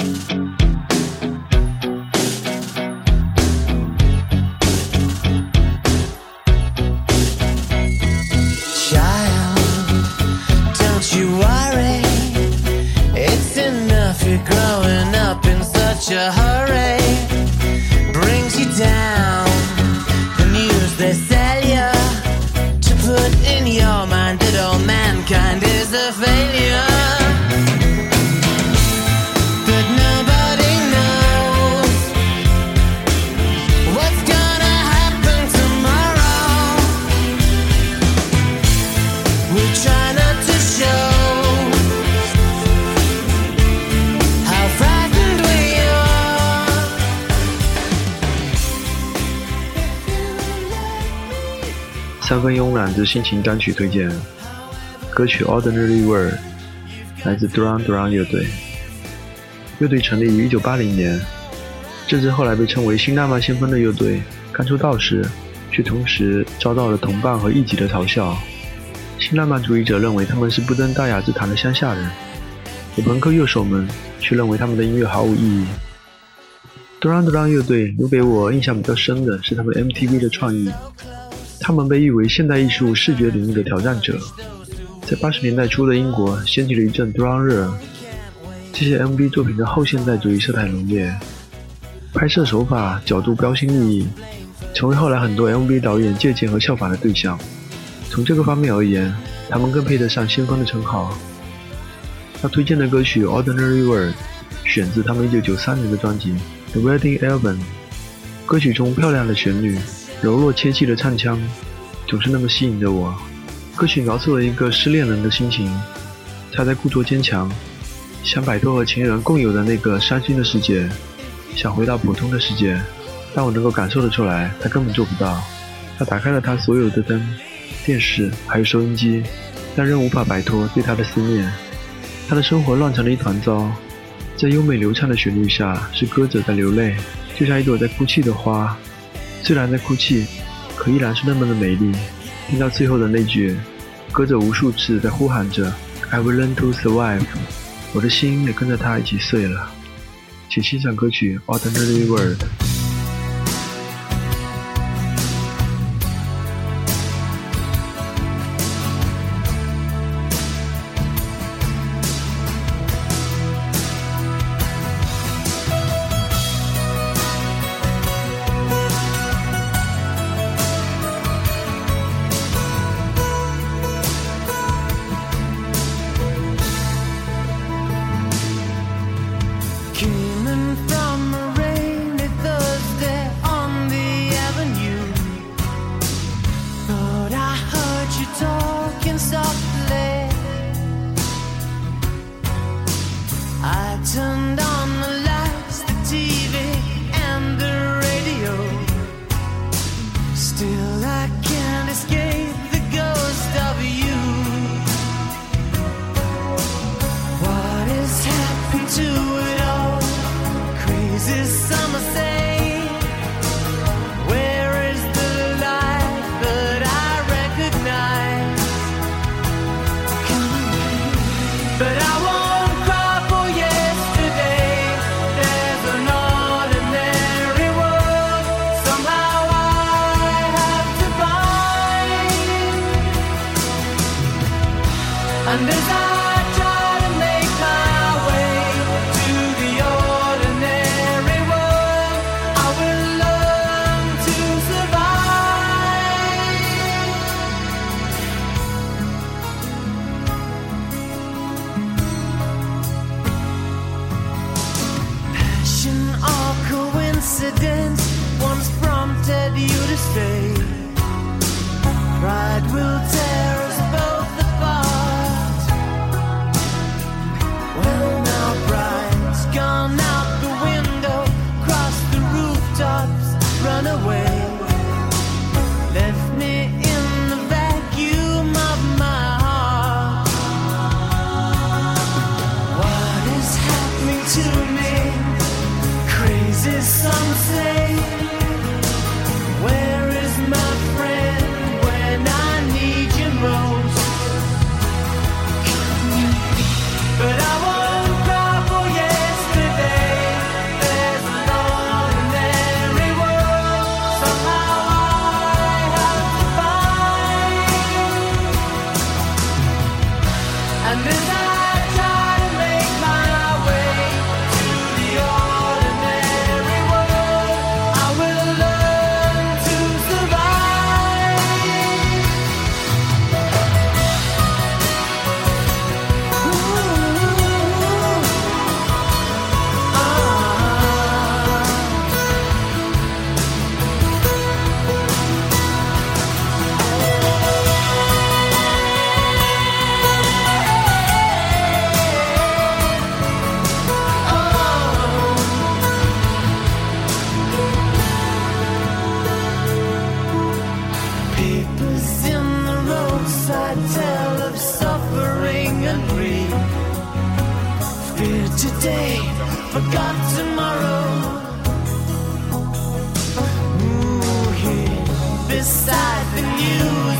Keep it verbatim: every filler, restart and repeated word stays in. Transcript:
such a hurry brings you down. The news they sell you to put in your mind that all mankind is a failure. But nobody knows what's gonna happen tomorrow. We try not to show 三分慵懒之心情单曲推荐，歌曲 Ordinary World 来自 Duran Duran 乐队。乐队成立于一九八零年，这支后来被称为新浪漫先锋的乐队刚出道时，却同时遭到了同伴和异己的嘲笑。新浪漫主义者认为他们是不登大雅之堂的乡下人，而朋克乐手们却认为他们的音乐毫无意义。Duran Duran 乐队留给我印象比较深的是他们 M T V 的创意。他们被誉为现代艺术视觉领域的挑战者，在八十年代初的英国掀起了一阵 Duran 热。这些 M V 作品的后现代主义色彩浓烈，拍摄手法角度标新立异，成为后来很多 M V 导演借鉴和效仿的对象。从这个方面而言，他们更配得上先锋的称号。要推荐的歌曲 Ordinary World 选自他们一九九三年的专辑 The Wedding Album。 歌曲中漂亮的旋律，柔弱切记的唱腔总是那么吸引着我。歌曲描述了一个失恋人的心情，他在故作坚强，想摆脱和情人共有的那个伤心的世界，想回到普通的世界，但我能够感受得出来他根本做不到。他打开了他所有的灯、电视还有收音机，但仍无法摆脱对他的思念。他的生活乱成了一团糟，在优美流畅的旋律下，是歌者在流泪，就像一朵在哭泣的花，虽然在哭泣，可依然是那么的美丽。听到最后的那句，歌者无数次在呼喊着 I will learn to survive， 我的心也跟着他一起碎了。请欣赏歌曲 Ordinary World。 Coming from a rainy Thursday on the avenue, thought I heard you talking softly. I turned on the lights, the T V and the radio. Still I can't escape the ghost of you. What has happened to it all? This summer say, where is the life that I recognize? But I won't cry for yesterday. There's an ordinary world somehow I have to find. And as I coincidence once prompted you to stay. Pride will tear us both apart. Well, now pride's gone out the window, cross the rooftops, run away. Left me in the vacuum of my heart. What is happening to me? Crazy some say, where is my friend when I need you most? But I won't cry for yesterday. And as I try to make my way to the ordinary world, I will learn to survive. Ooh, papers in the roadside tell of suffering and grief. Fear today, forgot tomorrow. Ooh, here beside the news